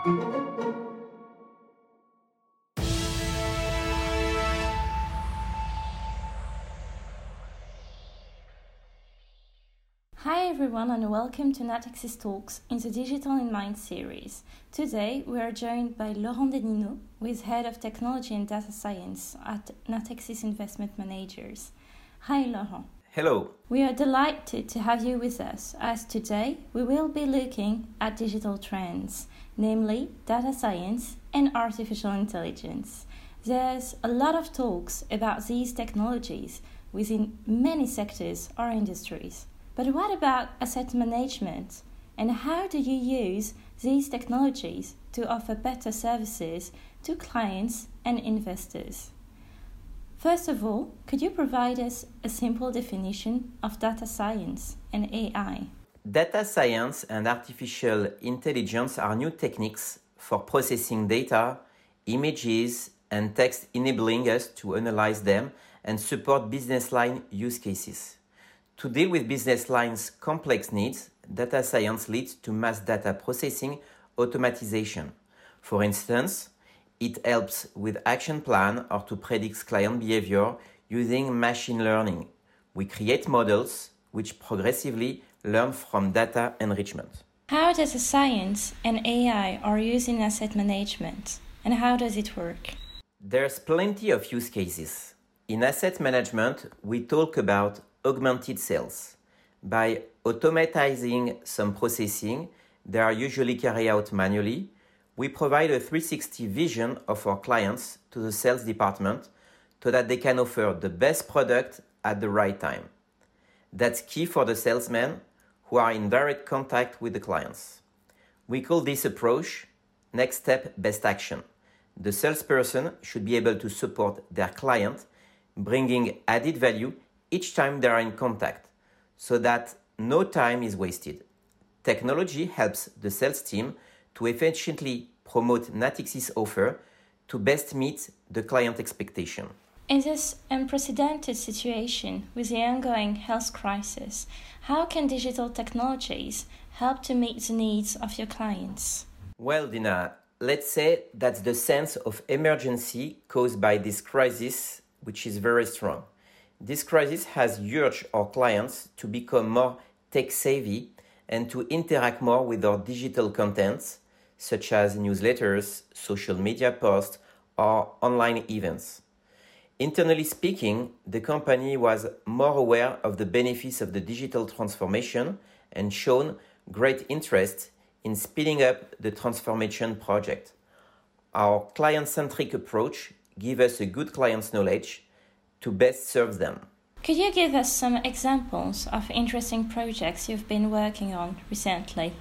Hi everyone and welcome to Natixis Talks in the Digital in Mind series. Today we are joined by Laurent Denino, who is Head of Technology and Data Science at Natixis Investment Managers. Hi Laurent. Hello. We are delighted to have you with us as today we will be looking at digital trends, namely data science and artificial intelligence. There's a lot of talks about these technologies within many sectors or industries. But what about asset management? And how do you use these technologies to offer better services to clients and investors? First of all, could you provide us a simple definition of data science and AI? Data science and artificial intelligence are new techniques for processing data, images, and text, enabling us to analyze them and support business line use cases. To deal with business lines' complex needs, data science leads to mass data processing automatization. For instance, it helps with action plan or to predict client behavior using machine learning. We create models which progressively learn from data enrichment. How data science and AI are used in asset management, and how does it work? There's plenty of use cases. In asset management, we talk about augmented sales. By automatizing some processing, they are usually carried out manually. We provide a 360 vision of our clients to the sales department so that they can offer the best product at the right time. That's key for the salesmen who are in direct contact with the clients. We call this approach next step best action. The salesperson should be able to support their client, bringing added value each time they are in contact, so that no time is wasted. Technology helps the sales team to efficiently promote Natixis' offer to best meet the client expectation. In this unprecedented situation with the ongoing health crisis, how can digital technologies help to meet the needs of your clients? Well, Dina, let's say that's the sense of emergency caused by this crisis, which is very strong. This crisis has urged our clients to become more tech-savvy and to interact more with our digital contents, such as newsletters, social media posts, or online events. Internally speaking, the company was more aware of the benefits of the digital transformation and shown great interest in speeding up the transformation project. Our client-centric approach gives us a good client's knowledge to best serve them. Could you give us some examples of interesting projects you've been working on recently?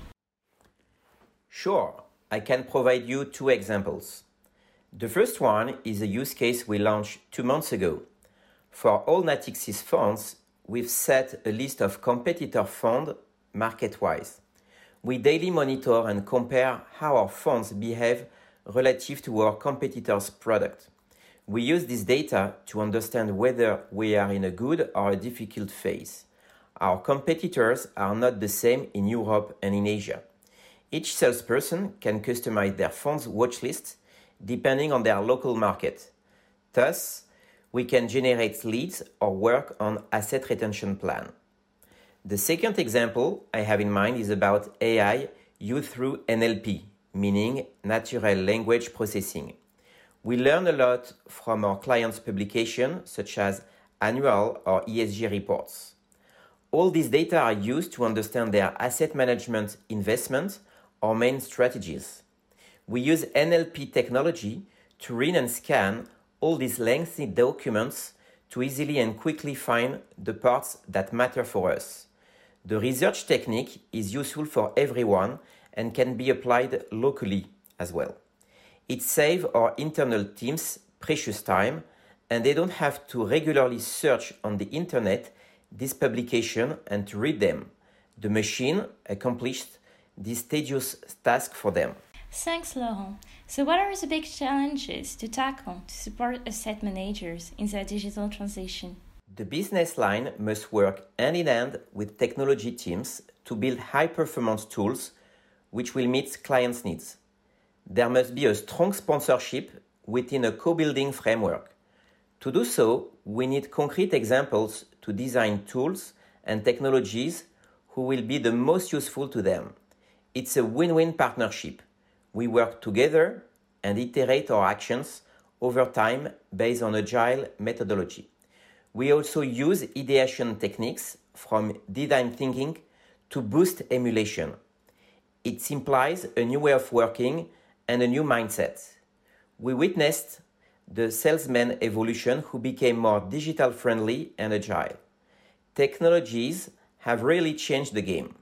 Sure, I can provide you 2 examples. The first one is a use case we launched 2 months ago. For all Natixis funds, we've set a list of competitor funds market-wise. We daily monitor and compare how our funds behave relative to our competitors' product. We use this data to understand whether we are in a good or a difficult phase. Our competitors are not the same in Europe and in Asia. Each salesperson can customize their fund's watch list depending on their local market. Thus, we can generate leads or work on asset retention plan. The second example I have in mind is about AI used through NLP, meaning natural language processing. We learn a lot from our clients' publications, such as annual or ESG reports. All these data are used to understand their asset management investment or main strategies. We use NLP technology to read and scan all these lengthy documents to easily and quickly find the parts that matter for us. The research technique is useful for everyone and can be applied locally as well. It saves our internal teams precious time, and they don't have to regularly search on the internet this publication and to read them. The machine accomplished this tedious task for them. Thanks, Laurent. So what are the big challenges to tackle to support asset managers in their digital transition? The business line must work hand in hand with technology teams to build high-performance tools which will meet clients' needs. there must be a strong sponsorship within a co-building framework. To do so, we need concrete examples to design tools and technologies who will be the most useful to them. It's a win-win partnership. We work together and iterate our actions over time based on agile methodology. We also use ideation techniques from design thinking to boost emulation. It implies a new way of working and a new mindset. We witnessed the salesman evolution who became more digital friendly and agile. Technologies have really changed the game.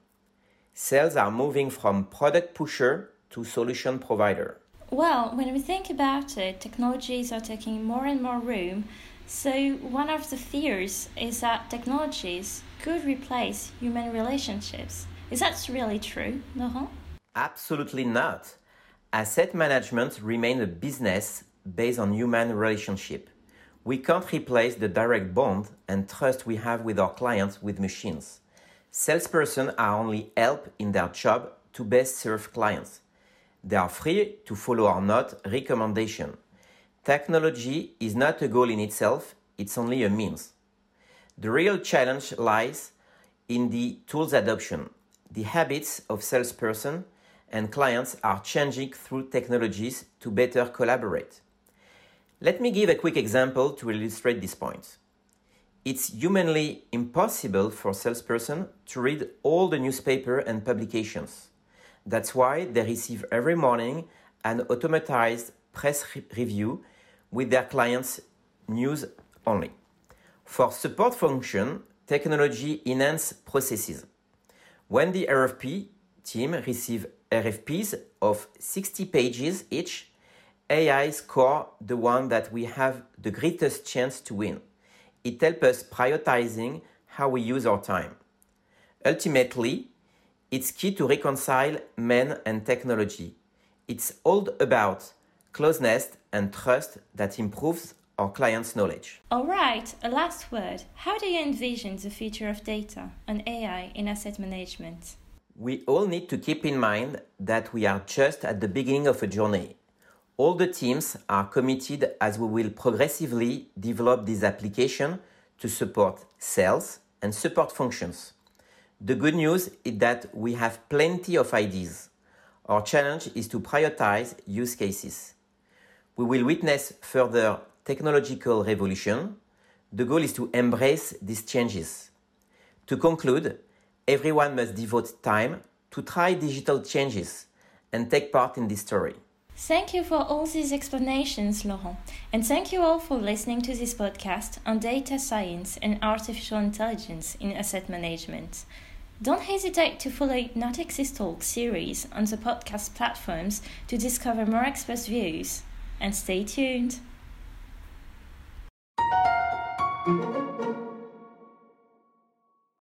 Sales are moving from product pusher to solution provider. Well, when we think about it, technologies are taking more and more room. So one of the fears is that technologies could replace human relationships. Is that really true, Laurent? Absolutely not. Asset management remains a business based on human relationship. We can't replace the direct bond and trust we have with our clients with machines. Salespersons are only help in their job to best serve clients. They are free to follow or not recommendation. Technology is not a goal in itself, it's only a means. The real challenge lies in the tools adoption. The habits of salespersons and clients are changing through technologies to better collaborate. Let me give a quick example to illustrate this point. It's humanly impossible for salespersons to read all the newspaper and publications. That's why they receive every morning an automatized press review with their clients' news only. For support function, technology enhances processes. When the RFP team receives RFPs of 60 pages each, AI score the one that we have the greatest chance to win. It helps us prioritizing how we use our time. Ultimately, it's key to reconcile man and technology. It's all about closeness and trust that improves our clients' knowledge. All right, a last word. How do you envision the future of data and AI in asset management? We all need to keep in mind that we are just at the beginning of a journey. All the teams are committed as we will progressively develop this application to support sales and support functions. The good news is that we have plenty of ideas. Our challenge is to prioritize use cases. We will witness further technological revolution. The goal is to embrace these changes. To conclude, everyone must devote time to try digital changes and take part in this story. Thank you for all these explanations, Laurent. And thank you all for listening to this podcast on data science and artificial intelligence in asset management. Don't hesitate to follow Natixis Talk series on the podcast platforms to discover more expert views. And stay tuned.